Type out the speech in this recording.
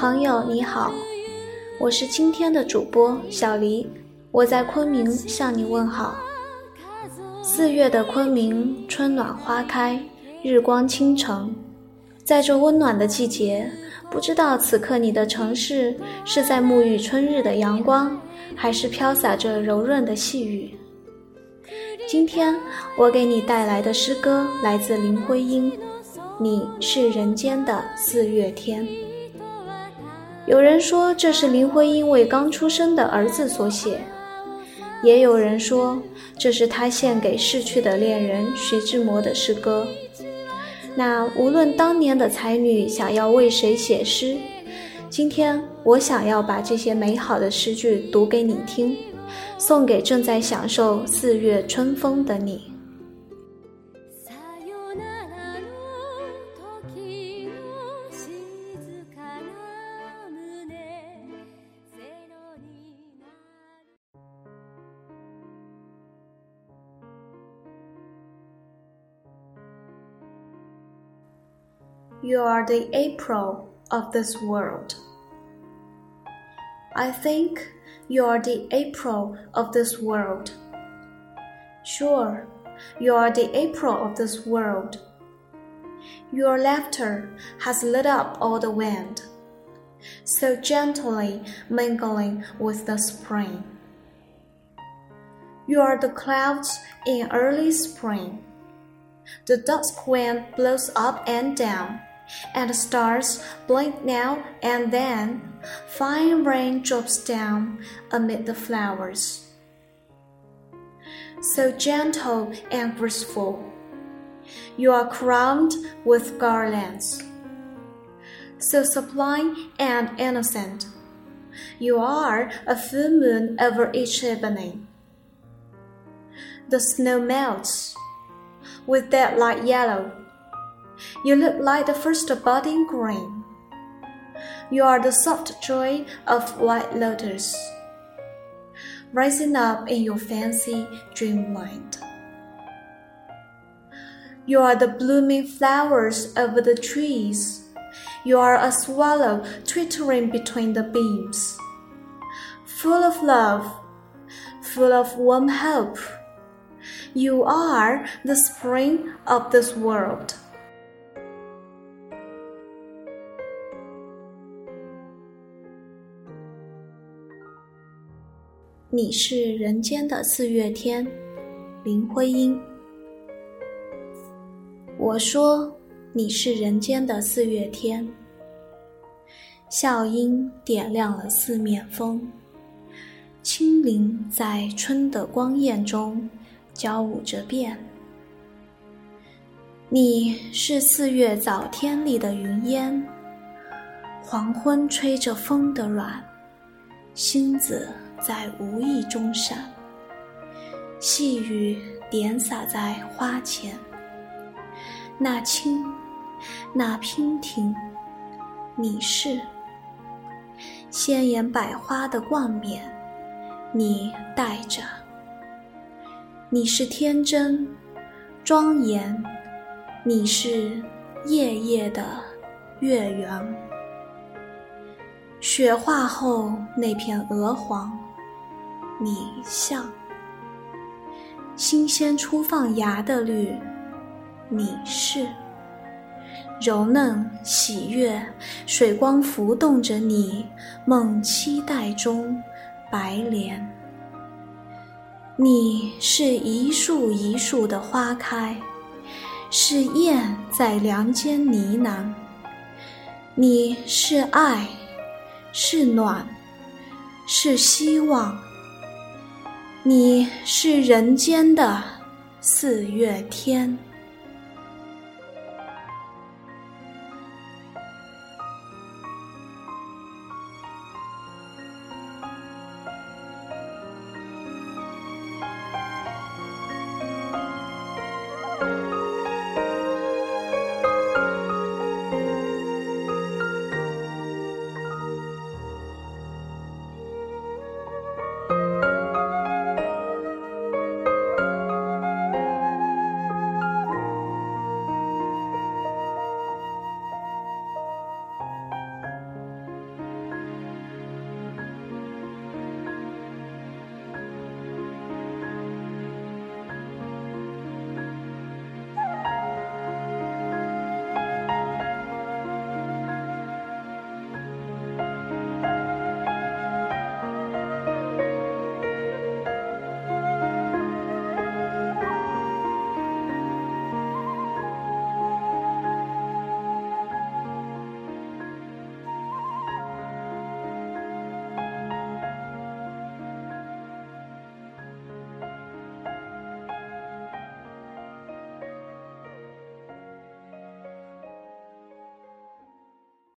朋友你好，我是今天的主播小黎，我在昆明向你问好。4月的昆明，春暖花开，日光倾城。在这温暖的季节，不知道此刻你的城市是在沐浴春日的阳光，还是飘洒着柔润的细雨。今天我给你带来的诗歌来自林徽因，你是人间的4月天。有人说这是林徽因为刚出生的儿子所写，也有人说这是他献给逝去的恋人徐志摩的诗歌。那无论当年的才女想要为谁写诗，今天我想要把这些美好的诗句读给你听，送给正在享受4月春风的你。You are the April of this world. I think you are the April of this world. Sure, you are the April of this world. Your laughter has lit up all the wind, so gently mingling with the spring. You are the clouds in early spring. The dusk wind blows up and down, and the stars blink now and then. Fine rain drops down amid the flowers. So gentle and graceful, you are crowned with garlands. So sublime and innocent, you are a full moon over each evening. The snow melts with that light yellow. You look like the first budding green. You are the soft joy of white lotus, rising up in your fancy dreamland. You are the blooming flowers over the trees. You are a swallow twittering between the beams, full of love, full of warm hope. You are the spring of this world. 你是人间的4月天，林徽因。我说你是人间的4月天，笑音点亮了四面风，轻灵在春的光艳中交舞着变。你是4月早天里的云烟，黄昏吹着风的软，星子在无意中闪，细雨点洒在花前。那轻，那娉婷，你是鲜艳百花的冠冕，你戴着。你是天真庄严，你是夜夜的月圆。雪化后那片鹅黄，你像新鲜初放芽的绿，你是柔嫩喜悦，水光浮动着你梦期待中白莲。你是一树一树的花开，是燕在梁间呢喃。你是爱，是暖，是希望。你是人间的4月天。